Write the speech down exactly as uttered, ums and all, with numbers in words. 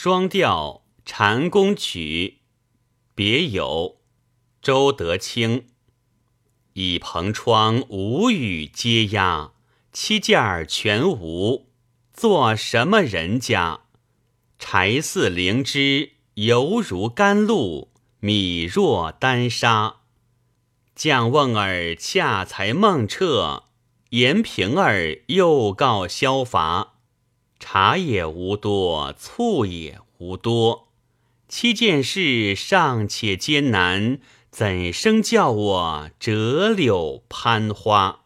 双调蟾宫曲，别有周德清。倚蓬窗无雨接压，七件儿全无，做什么人家？柴似灵芝，犹如甘露，米若丹砂。将瓮儿恰才梦彻，延平儿又告消乏。茶也无多，醋也无多，七件事尚且艰难，怎生叫我折柳攀花？